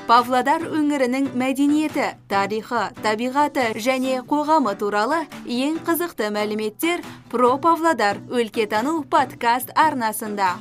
Павлодар өңірінің мәдениеті, тарихы, табиғаты және қоғамы туралы ең қызықты мәліметтер Про Павлодар өлкетану подкаст арнасында.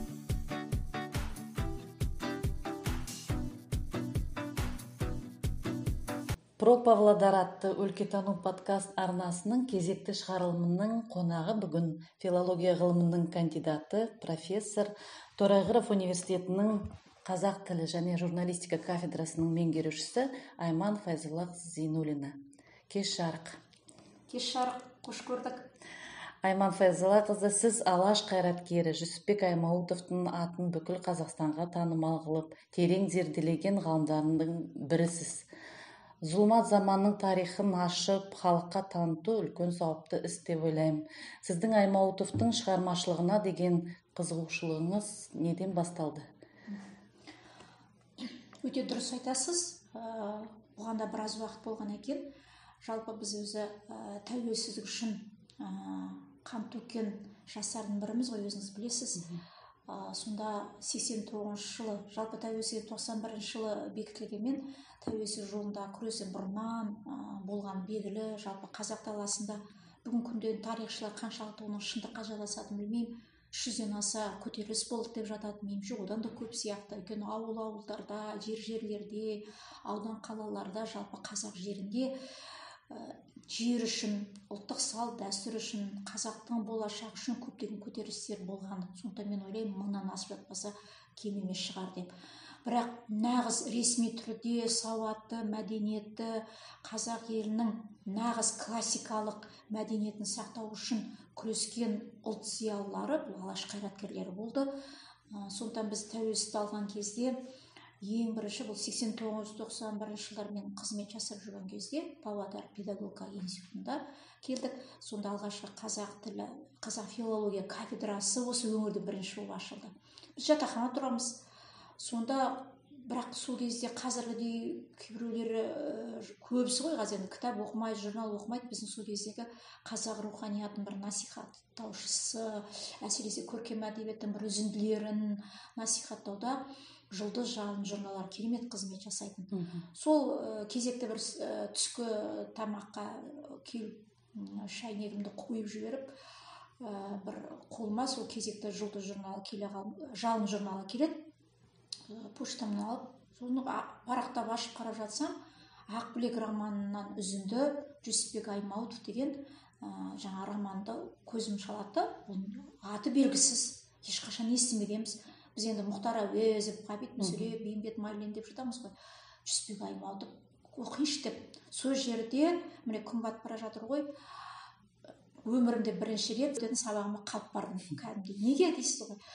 Про Павлодар атты өлкетану подкаст арнасының кезекті шығарылымының қонағы бүгін филология ғылымының кандидаты, профессор, Торайғыров университетінің қазақ тілі және журналистика кафедрасының меңгерушісі Айман Файзолла Зейнуллина. Кеш жарық. Кеш жарық, қош көрдік. Айман Файзолла қызы, сіз алаш қайраткері Жүсіпбек Аймауытовтың атын бүкіл Қазақстанға танымал қылып, терең зерделеген ғалымдарының бірісіз. Зұлмат заманның тарихын ашып, халыққа таныту үлкен сауапты іс деп ойлаймын. Сіздің Аймауытовтың шығармашылығына деген қызығушылығыңыз неден басталды? Өте дұрыс айтасыз. Бұған да біраз уақыт болған екен. Жалпы біз өзі тәуелсіздік үшін қан төккен жастардың біріміз ғой, өзіңіз білесіз. Сонда 89 жылы, жалпы тәуелсіздік 91 жылы бекітілгенмен, тәуелсіздік жолында күресі бұрыннан болған белгілі. Жалпы қазақ даласында бүгін күнде тарихшылар қаншалықты оның шындыққа жалғасатынын білмеймін. 300-ден аса көтеріліс болды деп жатады, меніңше одан да көп сияқты. Өйткені ауылдарда, жерлерде, аудан қалаларда, жалпы қазақ жерінде жер үшін, ұлттық салт дәстүр үшін, қазақтың болашағы үшін көптеген көтерілістер болған. Сондықтан мен ойлаймын, 1000-нан асып жатпаса кем емес шығар деп. Бірақ нағыз ресми түрде сауатты, мәдениетті қазақ елінің нағыз классикалық мәдениетін сақтау үшін күрескен ұлт зиялылары, бұл алаш қайраткерлері болды. Сондықтан біз тәуелсіздік алған кезде ең бірінші бұл 89-91 жылдармен қызмет жасап жүрген кезде Павлодар педагогика институтында келдік. Сонда алғашқы қазақ тілі, қазақ филология кафедрасы осы өңірде бірінші болып ашылды. Біз жатақхана тұрамыз. Сонда бірақ сол кезде қазіргідей кейбіреулері көбісі ғой, қазір кітап оқымайды, журнал оқымайды. Біздің сол кездегі қазақ руханиятының бір насихаттаушысы, әсіресе көркем әдебиеттің бір үзінділерін насихаттауда Жұлдыз жалын журналдар керемет қызмет жасайтын. Сол кезекті бір түскі тамаққа келіп шайнегімді қойып жіберіп, бір қолыма сол кезекті Жұлдыз журналы жалын журналы келеді. Поштамды алып, соны парақтап ашып қарап жатсам, Ақбілек романынан үзінді Жүсіпбек Аймауытов деген жаңа романды көзім шалады. Аты белгісіз, ешқашан естімегенбіз. Біз енді Мұхтар Әуезов, Ғабит Мүсіреп, Бейімбет Майлин деп жатамыз ғой. Жүсіпбек Аймауытов оқиыншы деп. Сол жерде міне күн батып бара жатыр ғой. Өмірімде бірінші рет сабағыма қалып бардым. Кәдімгідей. Неге дейсіз ғой?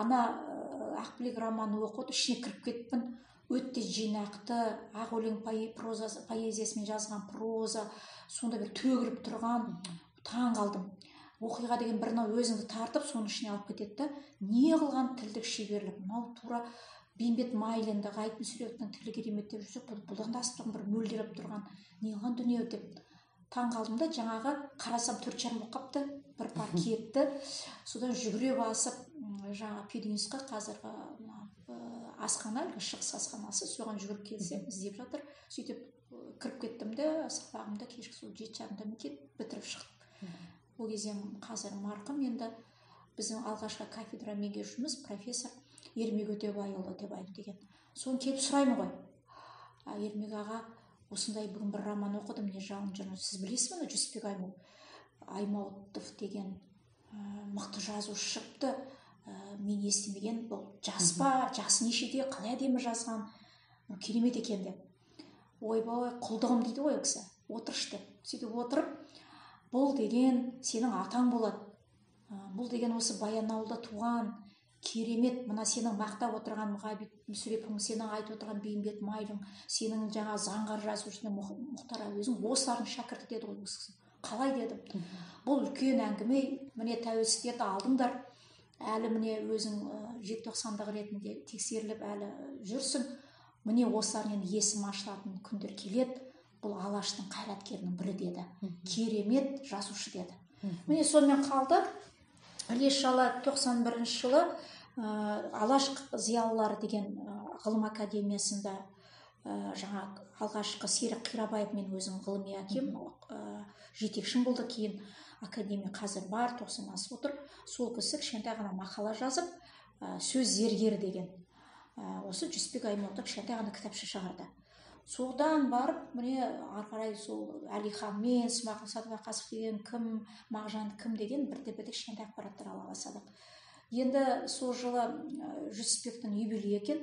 Ақбілек романын оқып, ішіне кіріп кеттім. Өте жинақты, ақ өлең поэзиясымен жазған проза, сонда бір төгіліп тұрған, таң қалдым. Оқиға деген бірінау өзіңді тартып, соның ішіне алып кетеді. Не қылған тілдік шеберлік? Мынау тура Бейімбет Майлинді, Ғабит Мүсірептің тілі керемет деп жүрсек, бұдан да асып тұрған, бір мөлдіреп тұрған, не қылған дүние деп таң қалдым да, жаңағы қарасам 4:30 болып қапты, бір пар кетті. Содан жүгіре басып, жаңа пединстқа, қазіргі асхана, шығыс асханасы, соған жүгіріп келсем, іздеп жатыр. Сөйтіп кіріп кеттім де, сабағымды кешкі сол 7:30-да бітіріп шықтым. Ол кезде қазір марқұм, енді біздің алғашқы кафедра меңгерушіміз профессор Ермек Өтебайұлы деген. Соны келіп сұраймын ғой. Ермек аға, осындай бүгін бір роман оқыдым, не жалын журнал. Сіз білесіз бе, Жүсіпбек Аймауытов деген мықты жазушы шықты. Мен естімеген, бұл жас па, жасы нешеде, қалай әдемі жазған, керемет екен деп. Ойбай, құлдығым дейді ғой кісі. Отыршы деп. Сөйтіп отырып, бұл деген сенің атаң болады. Бұл деген осы Баянауылда туған керемет, мына сенің мақтап отырған Ғабит Мүсірепің, сенің айтып отырған Бейімбет Майлин, сенің жаңа заңғар жазушының Мұхтар Әуезов осылардың шәкірті деді ғой осы. Қалай дедім. Бұл үлкен әңгіме, міне тәуелсіздікті алдыңдар. Әлі міне өзің желтоқсандағы ретінде тексеріліп әлі жүрсің. Міне осылардың есім ашылатын күндер келеді. Бұл алаштың қайраткерінің бірі деді. Керемет жазушы деді. Міне сонымен қалды. Іле-шала 91 жылы алаш зиялылары деген ғылым академиясында жаңа алғашқы Серік Қирабаев мен өзім ғылыми әкем жетекшім болды, кейін академия қазір бар, 90 асып отыр. Сол кісі кішкентай ғана мақала жазып, сөз зергері деген осы Жүсіпбек Аймауытов кішкентай ғана кітапша шығарды. Содан барып, міне ары қарай сол Әлиханмен, Смағұл Садуақасов деген кім, Мағжан кім деген бірте-бірте кішкентай ақпараттар ала бастадық. Енді сол жылы Жүсіпбектің юбилейі екен,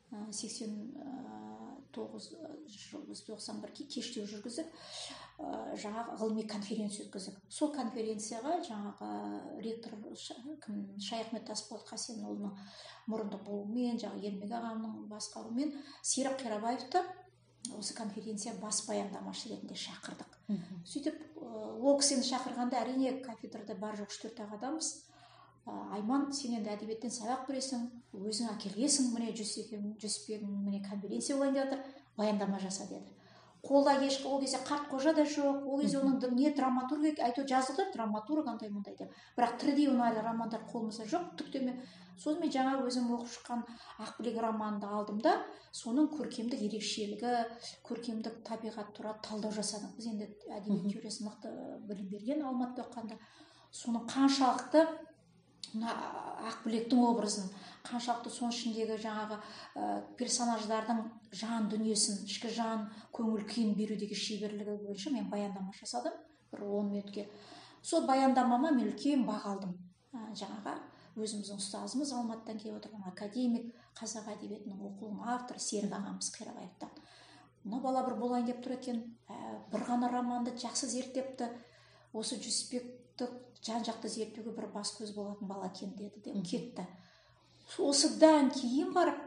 89-91 кештеу жүргізіп, жаңағы ғылыми конференция өткіздік. Сол конференцияға жаңағы ректор Шайахмет Тасболат Қасенұлының мұрындық болуымен, жаңағы Ермек ағамның басқаруымен Серік Қирабаевты осы конференция бас баяндамашы ретінде шақырдық. Сөйтіп, ол кісіні шақырғанда әрине кафедрада бар жоқ 3-4 адамбыз. Айман, сен енді әдебиеттен сабақ бересің, өзің әкелгенсің, міне Жүсіпбек міне конференция болайын деп жатыр, баяндама жаса деді. Қолда ешқандай, ол кезде Қартқожа да жоқ, ол кезде оның не драматург, әйтеуір жазылды драматург андай мындай деп. Бірақ тірідей оның әлі романдар қолымызда жоқ, түктеме. Сосын мен жаңа өзім оқып шыққан Ақбілек романды алдым да, соның көркемдік ерекшелігі, көркемдік табиғат туралы талдау жасадым. Біз енді әдебиет теориясы мықты білім берген Алматыда оқығанда, соның қаншалықты Ақбілектің образын, қаншалықты соның ішіндегі жаңағы персонаждардың жан дүниесін, ішкі жан көңіл күйін берудегі шеберлігі бойынша мен баяндама жасадым бір 10 минутке. Сол баяндамама мен үлкен баға алдым. Жаңағы өзіміздің ұстазымыз Алматыдан келіп отырған академик, қазақ әдебиетінің оқулығының авторы Серік ағамыз Қирабаевтан. Мына бала бір болайын деп тұр екен, бір ғана романды жақсы зерттепті, осы Жүсіпбекті жан-жақты зерттеуге бір бас көз болатын бала екен деді де кетті. Осыдан кейін барып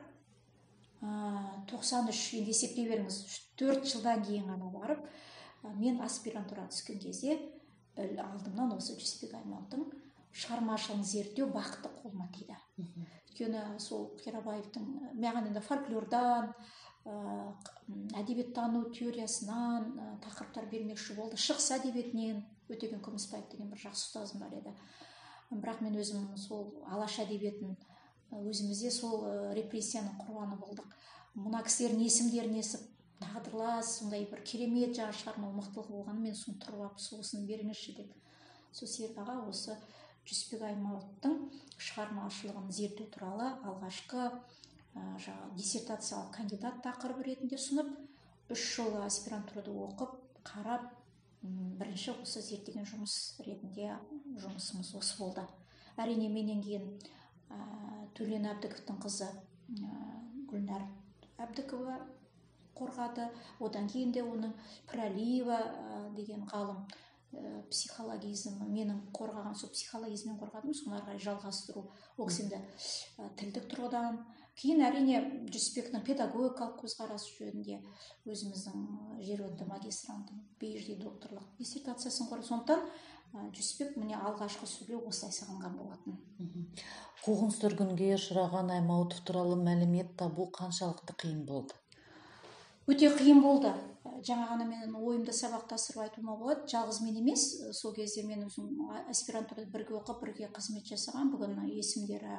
93, енді есептей беріңіз, 4 жылдан кейін ғана барып, мен аспирантураға түскен кезде алдымнан осы Жүсіпбек Аймауытовтың шығармашылығын зерттеу бақыты қолыма тиді. Өйткені сол Қирабаевтың маған енді фольклордан, әдебиеттану теориясынан тақырыптар бермекші болды. Шығыс әдебиетінен Өтеген Күмісбаев деген бір жақсы ұстазым бар еді. Бірақ мен өзім сол алаш әдебиетін өзімізде сол репрессияның құрбаны болдық. Мына кісілердің есімдерін естіп, тағдырлас, сондай бір керемет жаңа шығармалық мықтылығы болғаны мен соны тұрып алып, сосын беріңізші деп. Сол Серік аға осы Жүсіпбек Аймауытовтың шығармашылығын зерттеу туралы алғашқы диссертациялық кандидат тақырыбы ретінде сұнып, 3 жыл аспирантурада оқып, қарап, бірінші осы зерттеген жұмыс ретінде жұмысымыз осы болды. Әрине менен кейін Төлен Әбдіковтың қызы Гүлнар Әбдікова қорғады. Одан кейін де оның Пірәлиева деген ғалым психологизм, менің қорғаған, сол психологизммен қорғадым, соны ары қарай жалғастыру, ол кісінде тілдік тұрғыдан. Кейін әрине Жүсіпбектің педагогикалық көзқарасы жөнінде өзіміздің жерорта магистранттың PhD докторлық диссертациясын қорғады. Сондықтан Жүсіпбек міне алғашқы сөйлеу осылай сағынған болатын. Қуғын-сүргінге ұшыраған Аймауытов туралы мәлімет табу қаншалықты қиын болды? Өте қиын болды. Жаңа ғана мен ойымды сабақтастырып айтуыма болады. Жалғыз мен емес, сол кезде мен өзім аспирантурада бірге оқып, бірге қызмет жасаған. Бүгін есімдері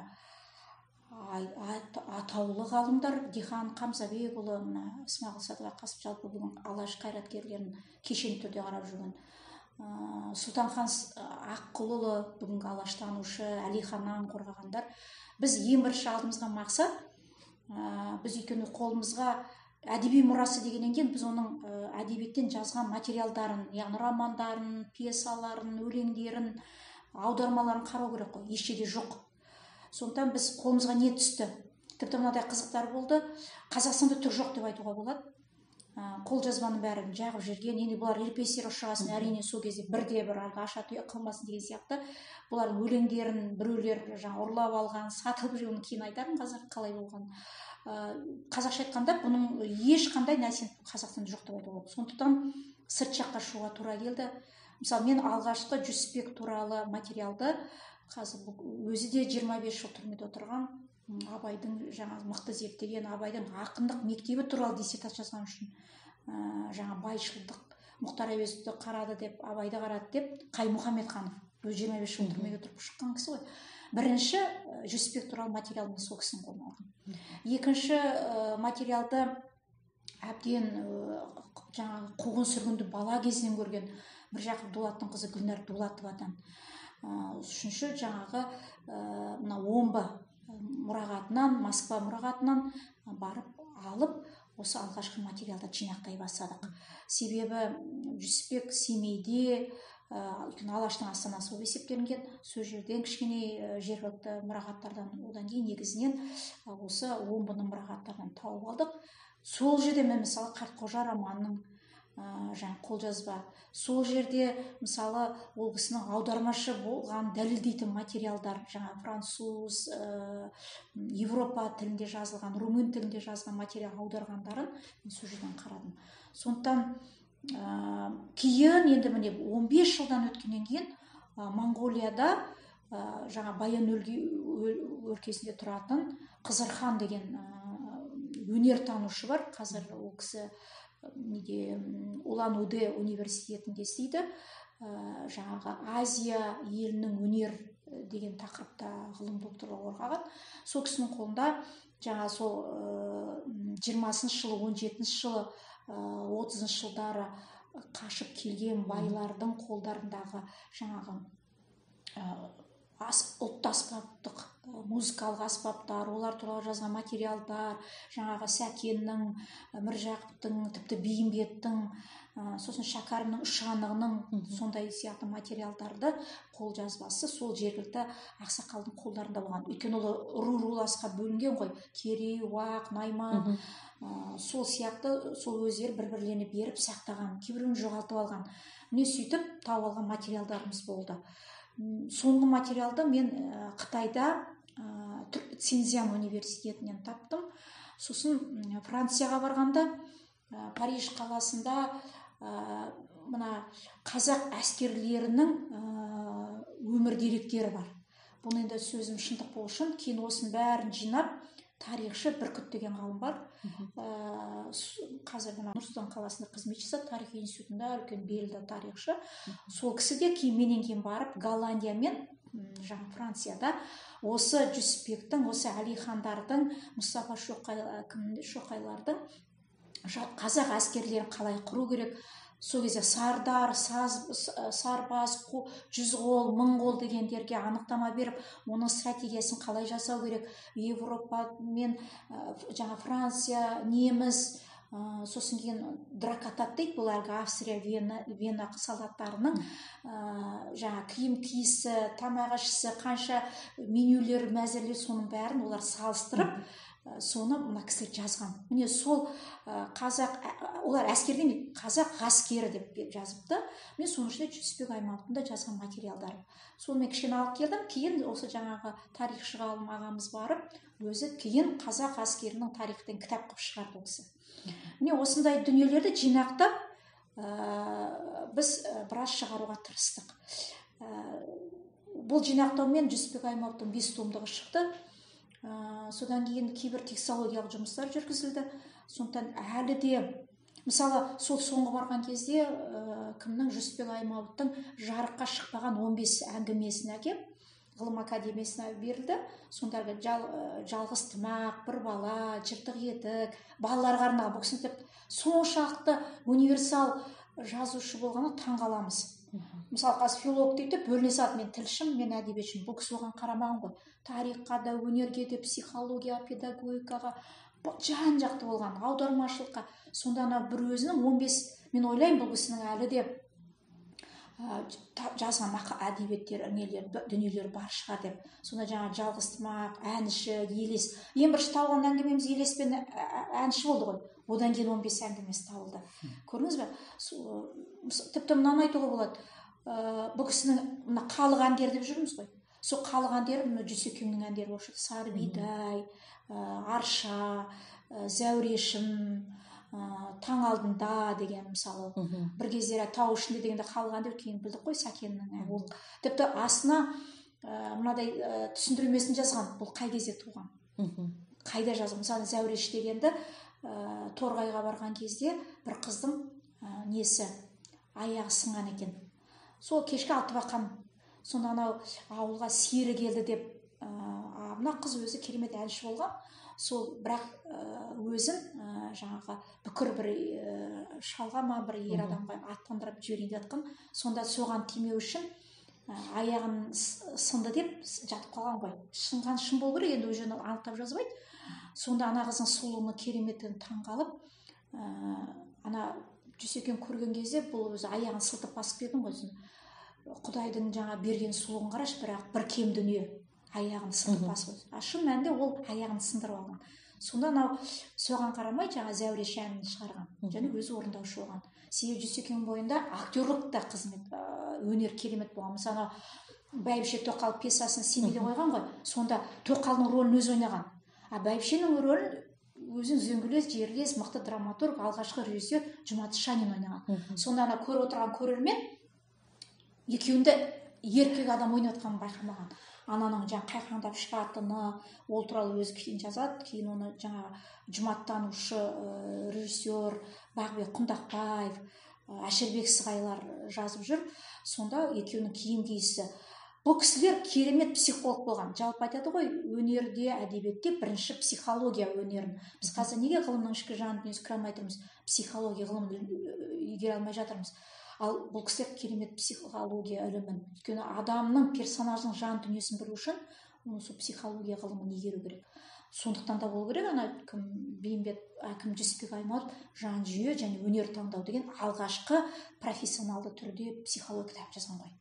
атаулы ғалымдар, Дихан Қамзабекұлы, Смағұл Садуақасов, жалпы бүгін алаш қайраткерлерін кешенді түрде қарап жүрген. Сұлтанхан Аққұлұлы, бүгінгі алаштанушы, Әлиханнан қорғағандар. Біз ең бірінші алдымызға мақсат, біз өйткені қолымызға әдеби мұрасы дегеннен кейін біз оның әдебиеттен жазған материалдарын, яғни романдарын, пьесаларын, өлеңдерін, аудармаларын қарау керек қой, ешкеде жоқ. Сондықтан біз қолымызға не түсті? Тіпті мынадай қызықтар болды. Қазақстанда түк жоқ деп айтуға болады. Қолжазбаның бәрін жағып жүрген, енді бұлар репрессия ұшырағасын, әрине сол кезде бірде-бір аша қылмасын деген сияқты. Бұлар өлеңдерін біреулер ұрлап алған, сатылып жүрген, кейін айтармын қазір қалай болған. Қазақша айтқанда бұның ешқандай нәрсе Қазақстанда жоқ деп айтуға болады. Сондықтан сырт жаққа шығуға тура келді. Мысалы, мен алғашқы Жүсіпбек туралы материалды қазір өзі де 25 жыл түрмеде отырған, Абайдың жаңа мықты зерттеген, Абайдың ақындық мектебі туралы диссертация жазған үшін жаңа байшылдық, Мұхтар Әуезовті қарады деп, Абайды қарады деп, Қаймұхамедханов 25 жыл түрмеге тұрып шыққан кісі ғой. Бірінші Жүсіпбек туралы материал мен сол кісінің қолына алған. Екінші материалды әбден жаңағы қуғын сүргінді бала кезінен көрген Міржақып Дулаттың қызы Гүлнар Дулатовадан. Үшінші жаңағы мына Омбы мұрағатынан, Москва мұрағатынан барып алып, осы алғашқы материалды жинақтай бастадық. Себебі Жүсіпбек Семейде, Алаштың астанасы болып есептелінген, сол жерден кішкене жергілікті мұрағаттардан, одан кейін негізінен осы Омбының мұрағаттардан тауып алдық. Сол жерде мен мысалы Қартқожа романының жаңа қолжазба, сол жерде мысалы ол кісінің аудармашы болған дәлелдейтін материалдар, жаңа француз, Европа тілінде жазылған, румын тілінде жазылған материал аударғандарын сол жерден қарадым. Сондықтан кейін енді міне 15 жылдан өткеннен кейін Монғолияда жаңа Баян өлкесінде тұратын Қызырхан деген өнертанушы бар. Қазір ол кісі Улан-Удэ университетінде істейді. Жаңағы Азия елінің өнер деген тақырыпта ғылым докторлығы қорғаған. Сол кісінің қолында жаңа сол 20-шы жылы, 17-ші жылы, 30-шы жылдары қашып келген байлардың қолдарындағы жаңағы ұлттық аспаптық музыкалық аспаптар, олар туралы жазған материалдар, жаңағы Сәкеннің, Міржақыптың, тіпті Бейімбеттің, сосын Шәкәрімнің үш анығының сондай сияқты материалдарды қолжазбасы сол жергілікті ақсақалдың қолдарында болған. Өйткені ол руласқа бөлінген ғой, Керей, Уақ, Найман, сол сияқты сол өздері бір-бірлеріне беріп сақтаған, кейбіреуін жоғалтып алған. Міне сөйтіп тауып алған материалдарымыз болды. Соңғы материалды мен Қытайда Цзиньцзян университетінен таптым. Сосын Францияға барғанда Париж қаласында мына қазақ әскерлерінің өмір деректері бар. Бұл енді сөзім шындық болу үшін, кейін осының бәрін жинап, тарихшы Бүркіт деген ғалым бар. Қазір Нұр-Сұлтан қаласында қызмет жасады, тарих институтында үлкен белді тарихшы. Сол кісі де менен кейін барып Голландия мен жаңа Францияда осы Жүсіпбектің, осы Әлихандардың, Мұстафа Шоқайлардың қазақ әскерлерін қалай құру керек, сол кезде Сардар, Сарбаз, Жүзғол, Мыңғол дегендерге анықтама беріп, оның стратегиясын қалай жасау керек, Европа мен жаңа Франция, неміс, сосын кейін дракатат дейді, бұл әлгі Австрия, Вена солдаттарының жаңа киім киісі, тамақ ішісі, қанша менюлер мәзірлеу, соның бәрін олар салыстырып, соны мына кісілер жазған. Міне сол қазақ, олар әскерден қазақ ғаскері деп жазыпты. Мен соның ішінде Жүсіпбек Аймауытовтың да жазған материалдары. Соны мен кішкене алып келдім. Кейін осы жаңағы тарихшы ғалым ағамыз барып, өзі кейін қазақ әскерінің тарихтан кітап қылып шығарды ол кісі. Міне осындай дүниелерді жинақтап, біз біраз шығаруға тырыстық. Бұл жинақтаумен Жүсіпбек Аймауытовтың 5 томдығы шықты. Содан кейін кейбір текстологиялық жұмыстар жүргізілді. Сондықтан әлі де, мысалы, сол соңғы барған кезде кімнің Жүсіпбек Аймауытовтың жарыққа шықпаған 15 әңгімесін әкеп, ғылым академиясына берілді. Сондағы жалғыз тымақ, бір бала, жыртық етік, балаларға арналған. Бұл кісі соншалықты универсал жазушы болғаны таң қаламыз. Мысалы, қазір филолог дейді, бөліне салды, мен тілшім, мен әдебиетшім. Бұл кісі оған қарамаған ғой. Тарихқа да, өнерге де, психология, педагогикаға жан-жақты болған, аудармашылыққа. Сонда бір өзінің 15, мен ойлаймын, бұл кісінің әлі де жазған әдебиеттер, дүниелер бар шығар деп. Сонда жаңа жалғыз тымақ, әнші, елес. Ең бірінші табылған әңгімеміз елес пен әнші болды ғой. Одан кейін 15 әңгімесі табылды. Көрдіңіз бе? Тіпті мынаны айтуға болады. Бұл кісінің халық әндері деп жүрміз ғой. Сол халық әндері Жүсекеңнің әндері болып шықты. Сарбидай, Арша, Зәурешім, Таң алдында деген мысалы. Бір кездері Тау ішінде дегенде халық әндері, кейін білдік қой Сәкеннің. Тіпті астына мынадай түсіндірмесін жазған. Бұл қай кезде туған? Қайда жазған? Мысалы Зәуреш дегенді Торғайға барған кезде бір қыздың несі аяғы сынған екен. Сол кешкі Алтыбақан, сонда анау ауылға сері келді деп ана қыз өзі керемет әнші болған, сол бірақ өзін жаңағы бүкір бір шалға ма бір ер адамға аттандырып жіберейін деп жатқан, сонда соған тимеу үшін аяғын сынды деп жатып қалған ғой. Шынған шын болу керек, енді өзі анықтап жазбайды. Сонда ана қыздың сұлулығына кереметтен таңғалып, ана Жүсекең көрген кезде бұл өзі аяғын сылтып басып берген ғой. Құдайдың жаңа берген сұлулығын қарашы, бірақ бір кем дүние аяғын сылтып басып. Шын мәнінде ол аяғын сындырып алған. Сонда анау соған қарамай жаңа Зәуреш әнін шығарған, және өзі орындаушы болған. Себебі Жүсекең бойында актерлік та қызмет, өнер керемет болған. Мысалы Бәйбіше Тоқал пьесасын Семейде қойған ғой, сонда Тоқалдың рөлін өзі ойнаған. Бәйбішенің рөлін өзін үзеңгілес, жерлес, мықты драматург, алғашқы режиссер Жұмат Шанин ойнаған. Сонда ана көріп отырған көрермен екеуінде еркек адам ойнап жатқанын байқамаған. Ананың жаңа қайқаңдап шығатыны, ол туралы өзі кейін жазады. Кейін оны жаңа жұматтанушы режиссер Бағбек Құндақбаев, Әшірбек Сығайлар жазып жүр. Сонда екеуінің киім киісі. Бұл кісілер керемет психолог болған. Жалпы айтады ғой, өнерде, әдебиетте бірінші психология өнерін. Біз қазір неге ғылымның ішкі жан дүниесін көре алмай тұрмыз? Психология ғылымын игере алмай жатырмыз. Ал бұл кісілер керемет психология ілімін. Өйткені адамның персонаждың жан дүниесін білу үшін оны сол психология ғылымын игеру керек. Сондықтан да болу керек, ана Бейімбет әкім Жүсіпбек Аймауытов жан жүйе және өнер таңдау деген алғашқы профессионалды түрде психология кітап жазған ғой.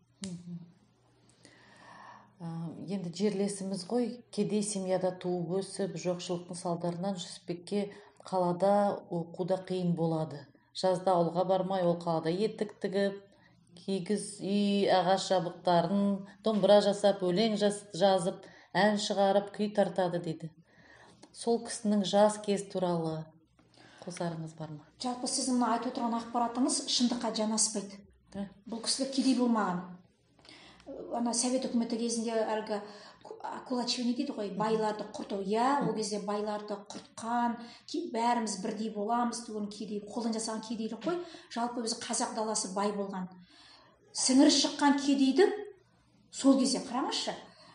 Енді жерлесіміз ғой, кедей семьяда туып өсіп, жоқшылықтың салдарынан Жүсіпбекке қалада оқуда қиын болады. Жазда ауылға бармай, ол қалада етік тігіп, кигіз үй, ағаш жабдықтарын, домбыра жасап, өлең жазып, ән шығарып, күй тартады дейді. Сол кісінің жас кез туралы қосарыңыз бар ма? Жалпы сіздің мына айтып отырған ақпаратыңыз шындыққа жанаспайды. Бұл кісілер кедей болмаған. Ана Совет үкіметі кезінде әлгі кулачивание дейді ғой, байларды құрту. Ол кезде байларды құртқан, бәріміз бірдей боламыз деген кедей, қолдан жасаған кедейлік қой. Жалпы өзі қазақ даласы бай болған. Сіңірі шыққан кедейді сол кезде қараңызшы,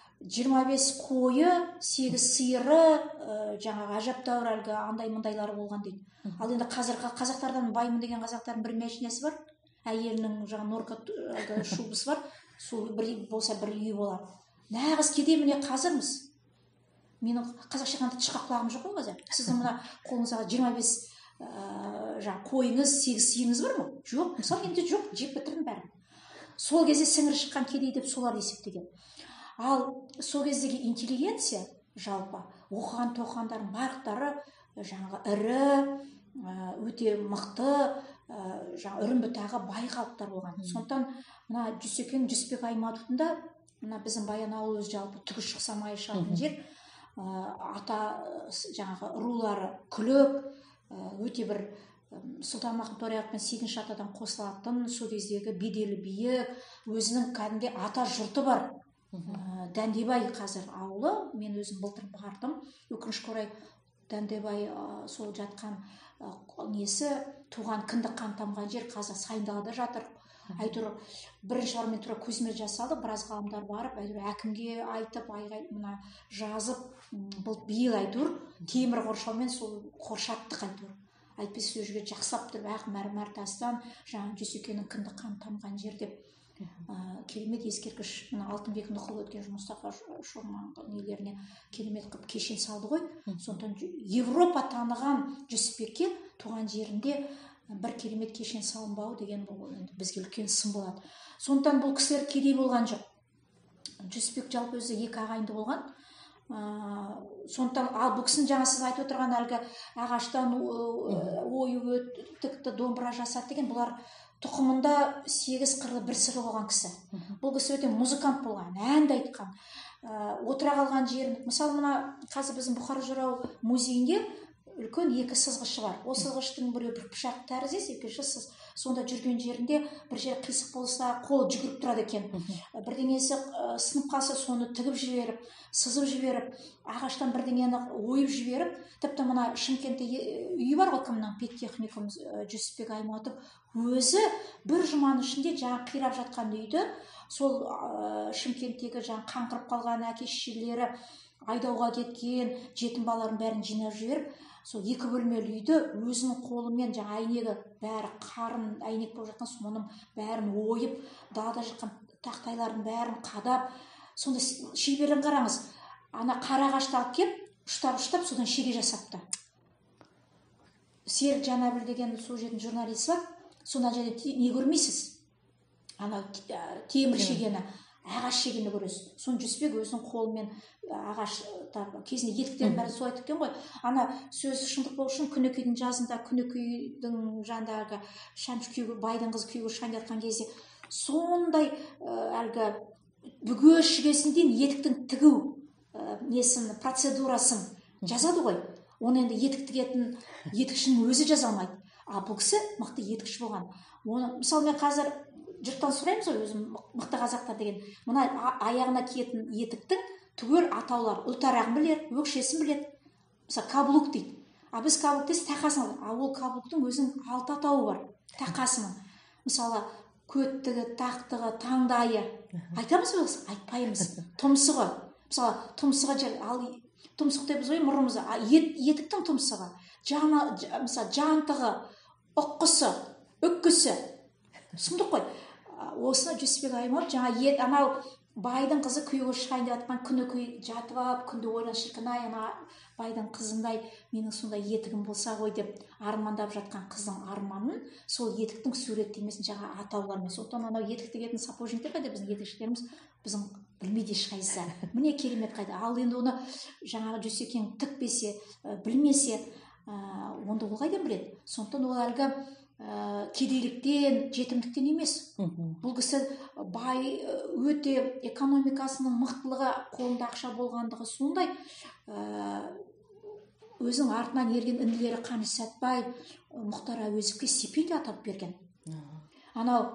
25 қойы, 8 сиыры, жаңағы әжептәуір әлгі андай мұндайлары болған дейді. Ал енді қазіргі қазақтардан баймын деген қазақтардың бір мәшинесі бар, әйелінің жаңа норка шубысы бар. Сол бір болса бір үй болады. Нағыз кедей міне қазірміз. Менің қазақша қандай тышқақ құлағым жоқ қой қазір. Сіздің мына қолыңыздағы 25 жаңа қойыңыз, 8 сиырыңыз бар ма? Жоқ, мысалы енді жоқ, жеп бітірдім бәрін. Сол кезде сіңірі шыққан кедей деп солар есептеген. Ал сол кездегі интеллигенция жалпы оқыған тоқығандардың барлықтары жаңағы ірі, өте мықты, жаңа үрімбітағы бай халықтар болған. Сондықтан мына Жүсекең Жүсіпбек Аймауытовтың да мына біздің Баянауыл өзі жалпы түгі шықса майы шығатын жер, ата жаңағы рулары күлік, өте бір Сұлтанмахмұт Торайғыров 8-ші атадан қосылатын, сол кездегі беделі биік, өзінің кәдімгі ата жұрты бар. Дәндебай қазір ауылы, мен өзім былтыр бардым. Өкінішке орай Дәндебай сол жатқан несі туған кіндік қан тамған жер қазір Сайындалада жатыр. Әйтеуір бірінші бар мен тура көзіме жас алды, біраз ғалымдар барып, әйтеуір әкімге айтып, мына жазып, бұл биыл әйтеуір темір қоршаумен сол қоршаттық әйтеуір. Әйтпесе сол жерге жақсылап тұрып, ақ мәрмәр тастан жаңа Жүсекеңнің кіндік қан тамған жер деп керемет ескерткіш, мына алтын бекінді құл өткен Мұстафа Шорман нелеріне керемет қылып кешен салды ғой. Сондықтан Европа таныған Жүсіпбекке туған жерінде бір керемет кешен салынбауы деген бұл бізге үлкен сын болады. Сондықтан бұл кісілер кедей болған жоқ. Жүсіпбек жалпы өзі 2 ағайынды болған. Сондықтан ал бұл кісінің жаңа сіз айтып отырған әлгі ағаштан ою тікті домбыра жасады деген, бұлар тұқымында 8 қырлы бір сыры болған кісі. Бұл кісі өте музыкант болған, әнді айтқан, отыра қалған жерін. Мысалы мына қазір біздің Бұхар Жырау музейінде үлкен 2 сызғышы бар. Ол сызғыштың бірі бір пышақ тәріздес, екіншісі сонда жүрген жерінде бір жер қисық болса қолы жүгіріп тұрады екен. Бірдеңесі сынып қалса соны тігіп жіберіп, сызып жіберіп, ағаштан бірдеңені ойып жіберіп, тіпті мына Шымкентте үйі бар ғой кімнің, педтехникум Жүсіпбек Аймауытов өзі бір жұманың ішінде жаңа қирап жатқан үйді сол Шымкенттегі жаңа қаңғырып қалған әке-шешелері айдауға кеткен жетім балалардың бәрін жинап жіберіп, сол 2 бөлмелі үйді өзінің қолымен жаңа әйнегі бәрі қарын әйнек болып жатқан соның бәрін ойып, далада жатқан тақтайлардың бәрін қадап, сонда шеберлігін қараңыз. Ана қара ағашты алып келіп, ұштап содан шеге жасапты. Серік Жанәбіл деген сол жердің журналисі бар. Сонда және не көрмейсіз? Ана темір шегені, ағаш шегені көресіз. Соны Жүсіпбек өзінің қолымен ағаш кезінде етіктерін бәрін солай тіккен ғой. Ана сөз шындық болу үшін Күнікейдің жазында Күнікейдің жандағы шәмші күйеуі, байдың қызы күйеуі шән жатқан кезде сондай әлгі бүге шігесін дейін етіктің тігу несін, процедурасын жазады ғой. Оны енді етік тігетін етікшінің өзі жаза алмайды. А бұл кісі мықты етікші болған. Оны мысалы мен қазір жұрттан сұраймыз ғой, өзім мықты қазақтар деген, мына аяғына киетін етіктің түгел атаулар, ұлтарағын білер, өкшесін біледі. Мысалы каблук дейді. А біз каблук дейсіз тақасын. А ол каблуктың өзінің 6 атауы бар. Тақасының. Мысалы көттігі, тақтығы, таңдайы. Айтамыз ба? Айтпаймыз. Тұмсығы. Мысалы тұмсығы ал тұмсық деп біз ой мұрнымызда. Етіктің тұмсығы. Мысалы жантығы, ұққысы, үккісі. Сұмдық қой. Осыны Жүсіпбек Аймауытов жаңа анау байдың қызы күйеуге шығайын деп жатқан Күнікей жатып алып, күнде ойлан шіркін-ай, ана байдың қызындай менің сондай етігім болса ғой деп армандап жатқан қыздың арманын сол етіктің суреттемесін жаңа атаулармен. Сондықтан анау етік тігетін сапожниктер қайда, біздің етікшілеріміз біздің білмейді ешқайсысы. Міне керемет қайда. Ал енді оны жаңағы Жүсекең тікпесе, білмесе, онда ол қайдан біледі? Сондықтан ол әлгі кедейліктен, жетімдіктен емес. Бұл кісі бай, өте экономикасының мықтылығы, қолында ақша болғандығы сондай, өзінің артынан ерген інілері Қаныш Сәтбаев, Мұхтар Әуезовке стипендия атап берген. Анау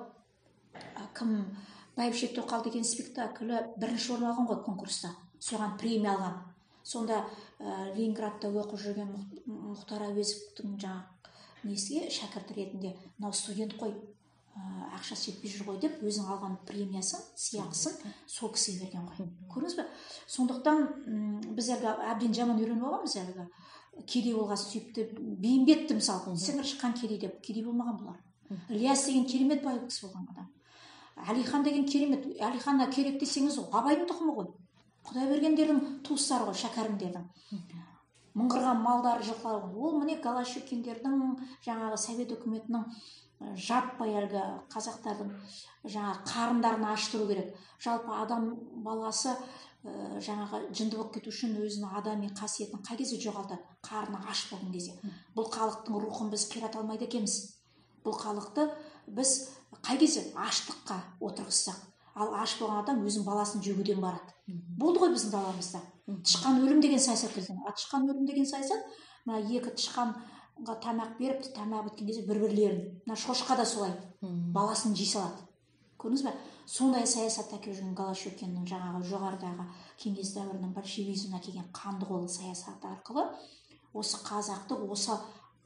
кім Бәйбіше Тоқал деген спектаклі бірінші орын алған ғой конкурста, соған премия алған. Сонда Ленинградта оқып жүрген Мұхтар Әуезовтің жаңа несіге шәкірті ретінде мынау студент қой, ақшасы жетпей жүр ғой деп өзінің алған премиясын, сыйақысын сол кісіге берген ғой. Көрдіңіз бе? Сондықтан біз әлгі әбден жаман үйреніп алғанбыз, әлгі кедей болған сүйіпті бейімбетті мысалы сіңір шыққан кедей деп. Кедей болмаған бұлар. Ілияс деген керемет бай кісі болған адам. Әлихан деген керемет. Әлиханға керек десеңіз ол Абайдың тұқымы ғой. Құдайбергендердің туыстары ғой, шәкәрімдердің. Мыңғырған малдары, жылқылары. Ол міне Голощекиндердің жаңағы совет үкіметінің жаппай әлгі қазақтардың жаңағы қарындарын аштыру керек. Жалпы адам баласы жаңағы жынды болып кету үшін өзінің адами қасиетін қай кезде жоғалтады? Қарны аш болған кезде. Бұл халықтың рухын біз қирата алмайды екенбіз. Бұл халықты біз қай кезде аштыққа отырғызсақ, ал аш болған адам өзінің баласын жегуден барады. Болды ғой біздің даламызда. Тышқан өлім деген саясат келген. Тышқан өлім деген саясат, мына екі тышқанға тамақ беріп, тамақ біткен кезде бір-бірлерін. Мына шошқа да солай баласын жей салады. Көрдіңіз бе? Сондай саясат әкеліп жүрген Голощекиннің жаңағы жоғарыдағы кеңес дәуірінің большевизміне әкелген қанды қолы саясаты арқылы осы қазақты осы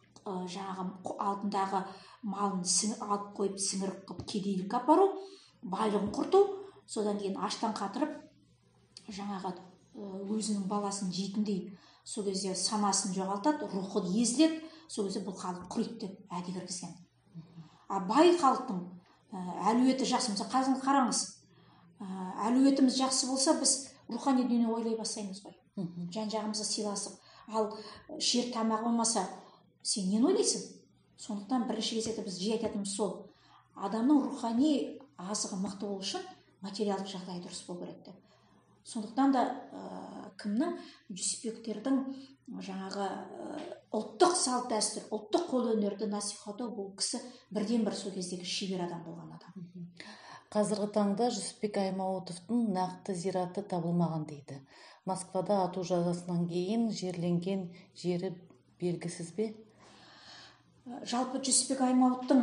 жаңағы алдындағы малын алып қойып сіңіріп қылып кедейлікке апару, байлығын құрту, содан кейін аштан қатырып жаңағы өзінің баласын жейтіндей сол кезде санасын жоғалтады, рухы езіледі, сол кезде бұл халық құриды деп әдей кіргізген. А бай халықтың әлеуеті жақсы. Мысалы қазір қараңыз, әлеуетіміз жақсы болса, біз рухани дүниені ойлай бастаймыз ғой. Жан-жағымызды сыйласып. Ал ішер тамақ болмаса, сен нені ойлайсың? Сондықтан бірінші кезекте біз жиі айтатынымыз сол. Адамның рухани азығы мықты болу үшін материалдық жағдай дұрыс болу керек деп. Сондықтан да кімнің Жүсіпбектердің жаңағы ұлттық салт дәстүр, ұлттық қолөнерді насихаттау, бұл кісі бірден бір сол кездегі шебер адам болған адам. Қазіргі таңда Жүсіпбек Аймауытовтың нақты зираты табылмаған дейді. Москвада ату жазасынан кейін жерленген жері белгісіз бе? Жалпы Жүсіпбек Аймауыттың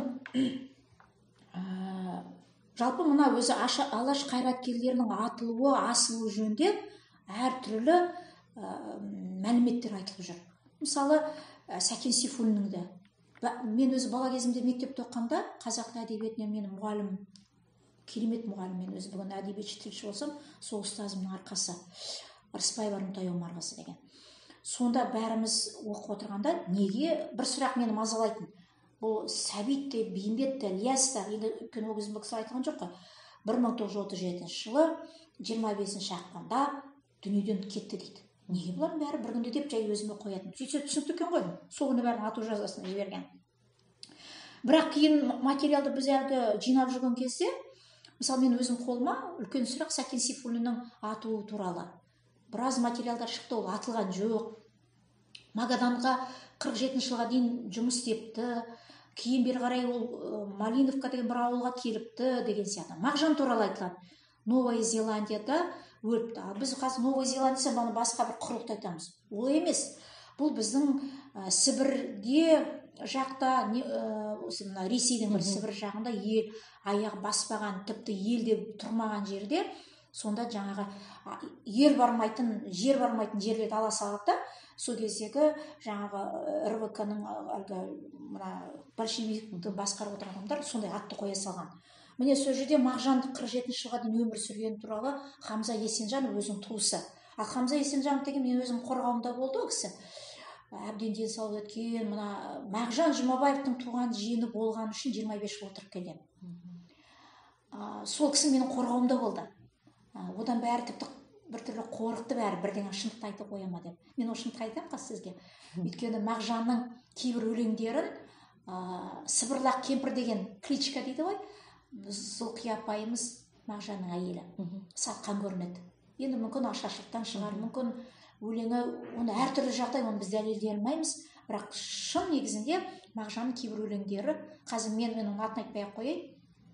жалпы мына өзі алаш қайраткерлерінің атылуы, асылуы жөнінде әртүрлі мәліметтер айтылып жүр. Мысалы, Сәкен Сейфуллиннің де. Мен өзі бала кезімде мектепте оқығанда қазақ әдебиетінен менің мұғалім, керемет мұғалім, мен өзі бүгін әдебиетші тілші болсам, сол ұстазымның арқасы. Рысбаева Нұртай Омарқызы деген. Сонда бәріміз оқып отырғанда неге бір сұрақ мені мазалайтын. Бұл Сәбит те, Бейімбет те, Ілияс та, енді өйткені ол кезде бұл кісі айтқан жоқ қой. 1937 жылы 25 ақпанда дүниеден кетті дейді. Неге бұлардың бәрі бір күнде деп жай өзіме қоятын. Сөйтсе түсінікті екен ғой. Сол күні бәрін ату жазасына жіберген. Бірақ кейін материалды біз әлгі жинап жүрген кезде, мысалы мен өзім қолыма үлкен сұрақ Сәкен Сейфуллиннің атуы туралы. Біраз материалдар шықты, ол атылған жоқ. Магаданға 47 жылға дейін жұмыс істепті. Кейін бері қарай ол Малиновка деген бір ауылға келіпті деген сияқты. Мағжан туралы айтылады. Новая Зеландияда өліпті. Біз қазір Новая Зеландия баны басқа бір құрлықты айтамыз. Ол емес. Бұл біздің Сібірде жақта, Ресейдің бір Сібір жағында ел аяғы баспаған, тіпті елде тұрмаған жерде, сонда жаңағы жер бармайтын жерлерді ала салады да, сол кездегі жаңағы РВК-ның әлгі большевикті басқарып отырған адамдар сондай атты қоя салған. Міне сол жерде Мағжанды 47 жылға дейін өмір сүргені туралы Хамза Есенжанов өзінің туысы. Ал Хамза Есенжанов деген мен өзім қорғауымда болды ол кісі. Әбден денсаулығы өткен, мына Мағжан Жұмабаевтың туған жиені болған үшін 25 жыл отырып келген. Сол кісі менің қорғауымда болды. Одан бәрі тіпті біртүрлі қорықты бәрі бірден шындықты айтып қоя ма деп. Мен ол шындықты айтамын қазір сізге. Өйткені Мағжанның кейбір өлеңдерін Сыбырлақ кемпір деген кличка дейді ғой. Зұлқия апайымыз Мағжанның әйелі. Сатқан көрінеді. Енді мүмкін ашаршылықтан шығар, мүмкін өлеңі, оны әртүрлі жағдай, оны біз дәлелдей алмаймыз. Бірақ шын негізінде Мағжанның кейбір өлеңдері, қазір мен оның атын айтпай ақ қояйын.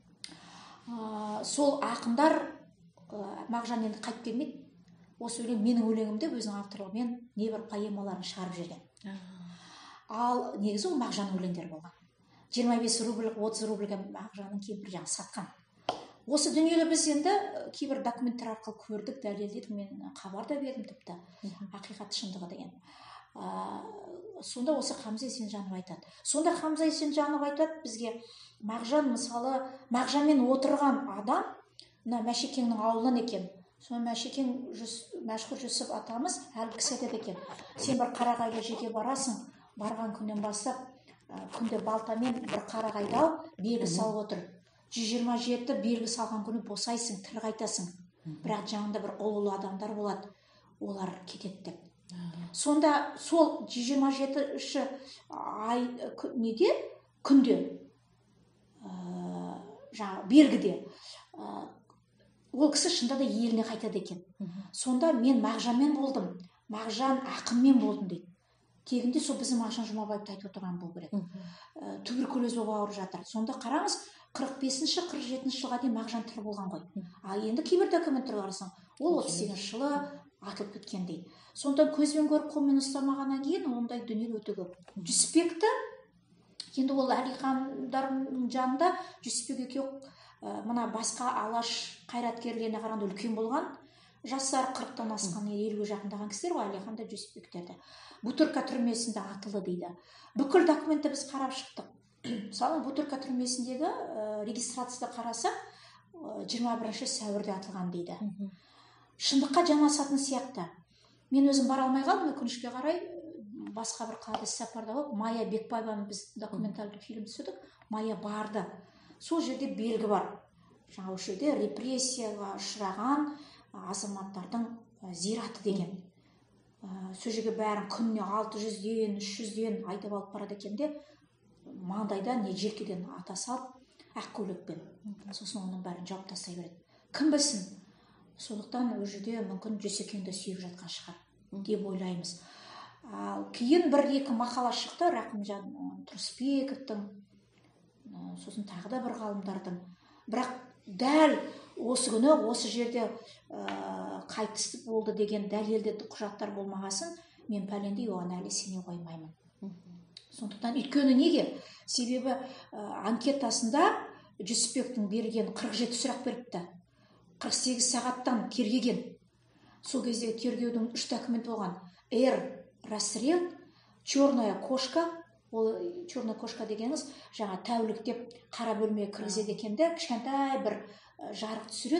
Сол ақындар Мағжан енді қайтып келмейді. Осы өлең менің өлеңімде өзінің авторлығымен небір поэмаларын шығарып жүрген. Ал негізі ол Мағжанның өлеңдері болған. 25 рубль, 30 рубльге Мағжанның кейбір жаңа сатқан. Осы дүниелі біз енді кейбір документтер арқылы көрдік, дәлелдедік, мен хабар да бердім тіпті, ақиқат шындығы деген. Сонда осы Хамза Есенжанов айтады. Сонда Хамза Есенжанов айтады бізге, Мағжан мысалы, Мағжанмен отырған адам, Мәшекеңнің ауылынан екен. Соны Мәшекең Мәшһүр Жүсіп атамыз әлгі кісі айтады екен. Сен бір қарағайға жеке барасың, барған күннен бастап, күнде балтамен бір қарағайды ал, белгі салып отыр. 127 белгі салған күні босайсың, тірі қайтасың. Бірақ жанында бір ұлылы адамдар болады, олар кетеді деп. Сонда сол 127-ші ай неде, күнде, жаңа белгіде, ол кісі шында да еліне қайтады екен. Сонда мен Мағжанмен болдым, Мағжан ақынмен болдым дейді. Тегінде сол біздің Мағжан Жұмабаевты айтып отырған болу керек. Туберкулез болып ауырып жатыр. Сонда қараңыз, 45-47 жылға дейін Мағжан тірі болған ғой. Ал енді кейбір документтер қарасаң, ол 38 жылы атылып кеткен дейді. Сонда көзбен көріп қолмен ұстамағаннан кейін ондай дүние өте көп. Жүсіпбекті, енді ол Әлихандардың жанында Жүсіпбек екеуі мына басқа алаш қайраткерлеріне қарағанда үлкен болған, жастары 40-тан асқан, 50-ге жақындаған кісілер ғой Әлихан да Жүсіпбектерді. Бутырка түрмесінде атылды дейді. Бүкіл документті біз қарап шықтық. Мысалы, Бутырка түрмесіндегі регистрацияда қарасақ, 21 сәуірде атылған дейді. Шындыққа жанасатын сияқты. Мен өзім бара алмай қалдым, өкінішке қарай, басқа бір қалада іссапарда болып, Майя Бекбаеваның біз документалды фильм түсірдік, Майя барды. Сол жерде белгі бар. Жаңа осы жерде репрессияға ұшыраған азаматтардың зираты деген. Сол жерге бәрін күніне 600-ден, 300-ден айтып алып барады екен де, маңдайда не желкеден ата салып, ақ көйлекпен. Сосын оның бәрін жауып тастай береді. Кім білсін? Сондықтан ол жерде мүмкін Жүсекеңді сүйіп жатқан шығар деп ойлаймыз. Кейін бір-екі мақала шықты Рақымжан Тұрысбековтың, сосын тағы да бір ғалымдардың. Бірақ дәл осы күні осы жерде қайтыс болды деген дәлелді құжаттар болмағасын, мен пәлендей оған әлі сене қоймаймын. Сондықтан өйткені неге? Себебі анкетасында Жүсіпбектің берген 47 сұрақ беріпті. 48 сағаттан тергеген. Сол кезде тергеудің 3 документ болған. Расстрел, черная кошка. Ол черная кошка дегеніңіз жаңа тәулік деп қара бөлмеге кіргізеді екенде, кішкентай бір жарық түсіреді.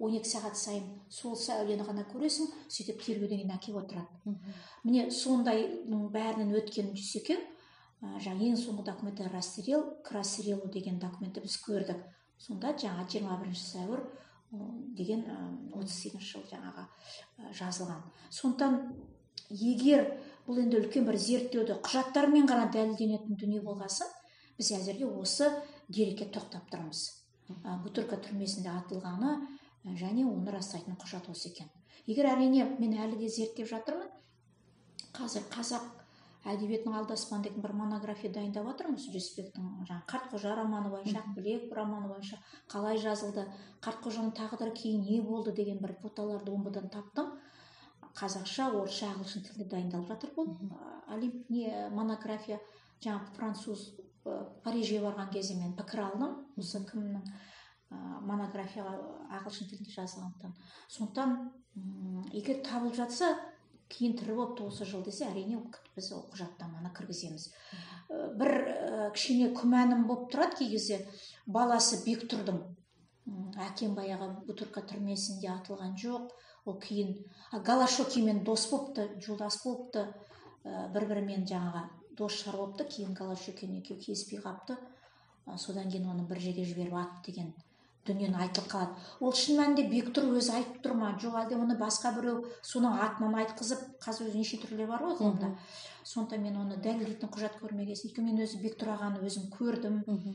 12 сағат сайын сол сәулені ғана көресің, сөйтіп тергеуден кейін әкеп отырады. Міне сондайдың бәрінен өткен Дүйсекең жаңа ең соңғы документі расстрел к расстрелу деген документті біз көрдік. Сонда жаңа 21 сәуір деген 38 жыл жаңаға жазылған. Сондықтан егер бұл енді үлкен бір зерттеуді құжаттармен ғана дәлелденетін дүние болғасын, біз әзірге осы дерекке тоқтап тұрмыз. Бутырка түрмесінде атылғаны және оны растайтын құжат осы екен. Егер әрине мен әлі де зерттеп жатырмын, қазір қазақ әдебиетінің алдаспан деген бір монография дайындап жатырмыз. Жүсіпбектің жаңа Қартқожа романы бойынша, Ақбілек романы бойынша қалай жазылды, Қартқожаның тағдыры кейін не болды деген бір фотоларды омбыдан таптым. Қазақша, орысша, ағылшын тілінде дайындалып жатыр бұл. Монография жаңа француз Парижге барған кезде мен пікір алдым. Осы кімнің монографияға ағылшын тілінде жазылғандықтан. Сондықтан егер табылып жатса, кейін тірі болыпты осы жыл десе, әрине біз ол құжаттаманы кіргіземіз. Бір кішкене күмәнім болып тұрады кей кезде, баласы Бектұрдың әкем баяғы Бутырка түрмесінде атылған жоқ, ол кейін Голошокимен дос болыпты, жолдас болыпты, бір-бірімен жаңаға дос шығар болыпты, кейін Голошокин екеуі келіспей қапты, содан кейін оны бір жерге жіберіп атты деген дүниені айтып қалады. Ол шын мәнінде Бектұр өзі айтып тұр ма, жоқ әлде оны басқа біреу соның атынан айтқызып, қазір өзі неше түрлері бар ғой ғылымда. Сондықтан мен оны дәлелдейтін құжат көрмегесін, өйткені мен өзі Бектұр ағаны өзім көрдім.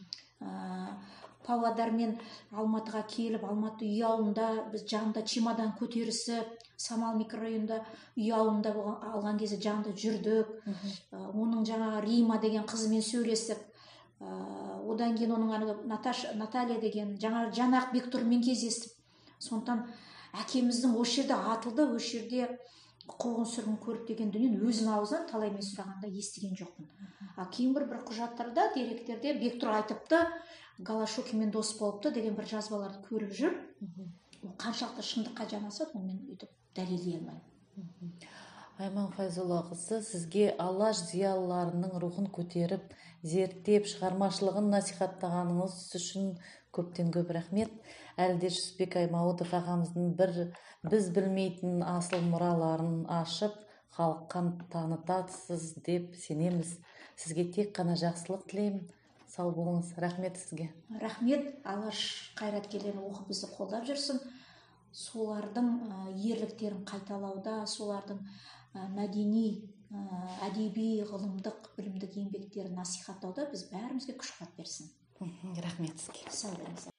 Павлодар мен Алматыға келіп, Алматы үй ауылында біз жанында чемодан көтерісіп, Самал микрорайонында үй ауылында алған кезде жанында жүрдік. Оның жаңағы Рима деген қызымен сөйлесіп, одан кейін оның Наталья деген жаңақ Бектұрмен кездестіп. Сондықтан әкеміздің осы жерде атылды, осы жерде қуғын сүргін көріп деген дүниені өзінің аузынан талаймен сұрағанда естіген жоқпын. Кейін бір құжаттарда, деректерде Бектұр айтыпты, Голошокинмен дос болыпты деген бір жазбаларды көріп жүр. Ол қаншалықты шындыққа жанасады, оны мен өйтіп дәлелдей алмаймын. Айман Файзолла қызы, сізге алаш зиялыларының рухын көтеріп, зерттеп, шығармашылығын насихаттағаныңыз үшін көптен көп рахмет. Әлі де Жүсіпбек Аймауытов ағамыздың біз білмейтін асыл мұраларын ашып, халыққа танытасыз деп сенеміз. Сізге тек қана жақсылық тілеймін. Сау болыңыз. Рахмет сізге. Рахмет. Алаш қайраткерлерін оқып бізді қолдап жүрсін. Солардың ерліктерін қайталауда, солардың мәдени, әдеби, ғылымдық, білімдік еңбектерін насихаттауда біз бәрімізге күш қуат берсін. Рахмет сізге. Сау болыңыз.